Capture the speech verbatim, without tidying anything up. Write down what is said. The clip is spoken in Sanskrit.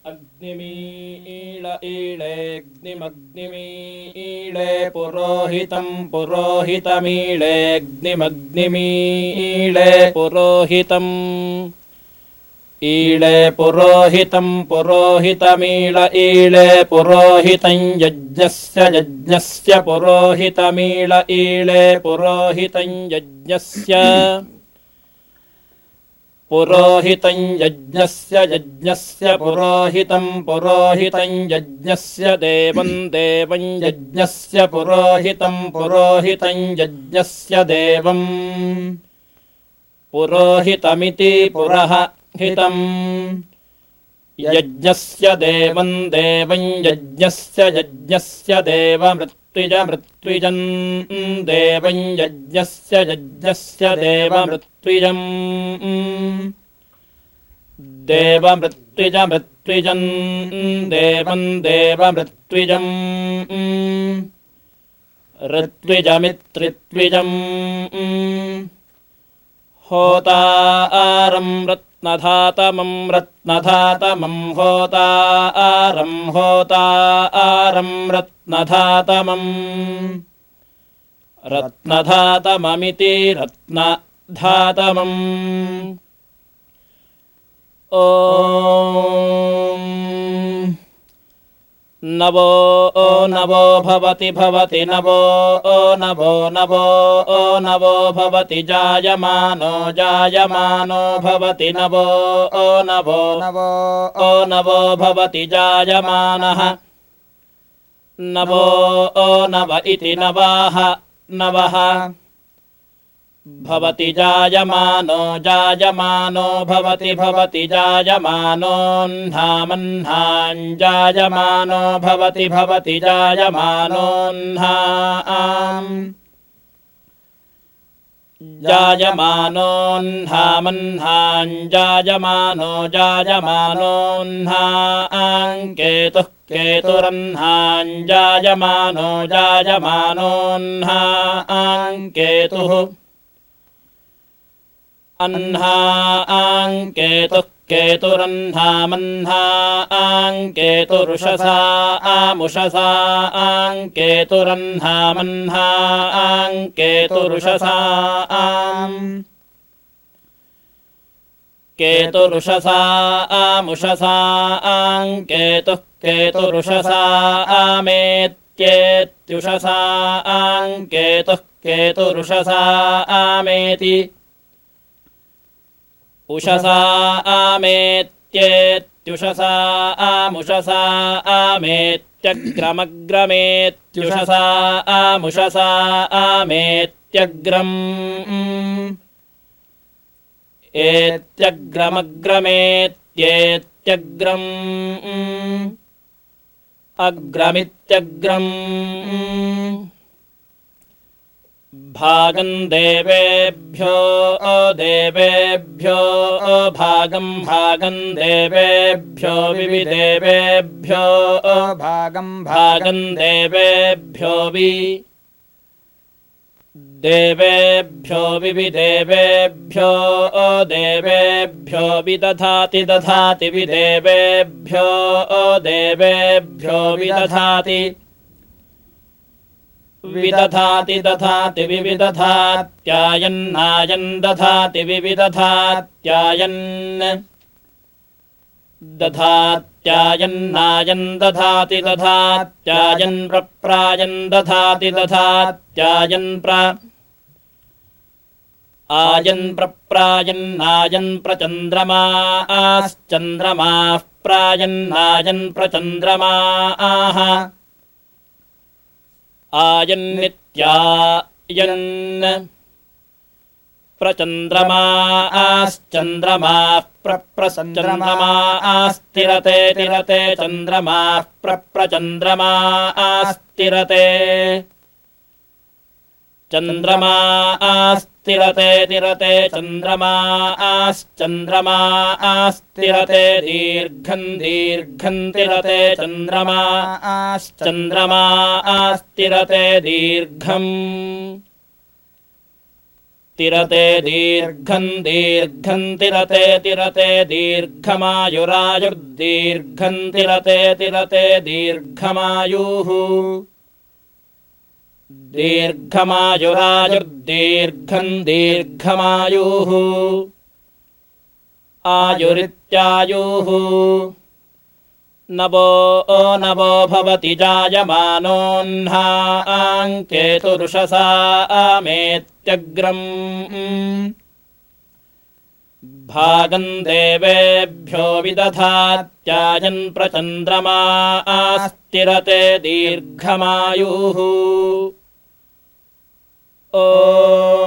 अग्निमीळ ईळेऽग्निमग्निमीळे पुरोहितं पुरोहितमीळेऽग्निमग्निमीळे पुरोहितम् ईळे पुरोहितं पुरोहितमीळ ईळे पुरोहितं यज्ञस्य यज्ञस्य पुरोहितमीळ ईळे पुरोहितं यज्ञस्य पुरोहितं यज्ञस्य यज्ञस्य पुरोहितं पुरोहितं यज्ञस्य देवं देवं यज्ञस्य पुरोहितं पुरोहितं यज्ञस्य देवं पुरोहितमिति पुरोहितं यज्ञस्य देवं देवं यज्ञस्य यज्ञस्य देवमृत्विजमृत्विजं देवं यज्ञस्य यज्ञस्य देवमृत्विजम् देवमृत्विजमृत्विजं देवं देवमृत्विजम् ऋत्विजमित्रित्विजम् होतारं रत्नधातमं रत्नधातमं होतारं होतारं रत्नधातमम् रत्नधातममिति रत्नधातमम् ॐ नवो नवो भवति भवति नवो नवो नवो नवो भवति जायमानो जायमानो भवति नवो नवो नवो नवो भवति जायमानः नवो नव इति नवाः नवः भवति जायमानो जायमानो भवति भवति जायमानोऽह्नामह्नां जायमानो भवति भवति जायमानोऽह्नाम् जायमानोऽह्नामह्नां जायमानो जायमानोऽह्नां केतुः केतुरह्नां जायमानो जायमानोऽह्नां केतुः अह्नां केतुः केतुरह्नामह्नां केतुरुषसा आमुषसा केतुरह्नामह्नां केतुरुषसा केतुरुषसा आमुषसा केतुः केतुरुषसा आमेत्येत्युषसा केतुः केतुरुषसा आमेति उषसा आमेत्येत्युषसा आमुषसा आमेत्यग्रमग्रमेत्युषसा आमुषसा आमेत्यग्रम् एत्यग्रमग्रमेत्येत्यग्रम् अग्रमित्यग्रम् भागं देवेभ्यो देवेभ्यो भागं भागं देवेभ्यो विविदेवेभ्यो भागं भागं देवेभ्यो वि देवेभ्यो विविदेवेभ्यो देवेभ्यो विदधाति दधाति विदेवेभ्यो देवेभ्यो विदधाति विदधाति दधाति विविदधात्यायन्नायन् दधाति विविदधात्यायन् दधात्यायन्नायन् दधाति दधात्यायन् प्रप्रायन् दधाति दधात्यायन् प्र आयन् प्रप्रायन्नायन् प्रचन्द्रमाश्चन्द्रमाः प्रायन्नायन् प्रचन्द्रमाः आयन्नित्यायन् प्रचन्द्रमाश्चन्द्रमाः प्रप्रचन्द्रमास्तिरते तिरते चन्द्रमाः प्रप्रचन्द्रमास्तिरते चन्द्रमास्तिरते तिरते चन्द्रमाश्चन्द्रमास्तिरते दीर्घं दीर्घं तिरते चन्द्रमाश्चन्द्रमास्तिरते दीर्घम् तिरते दीर्घम् दीर्घम् तिरते तिरते दीर्घमायुरायुर्दीर्घम् तिरते तिरते दीर्घमायुः दीर्घमायुरायुर्दीर्घम् दीर्घमायुः आयुरित्यायुः नवो नवो भवति जायमानोऽह्नाङ्केतुरुषसा आमेत्यग्रम् भागम् देवेभ्यो विदधात्यायन् प्रचन्द्रमा आस्तिरते दीर्घमायुः। ओ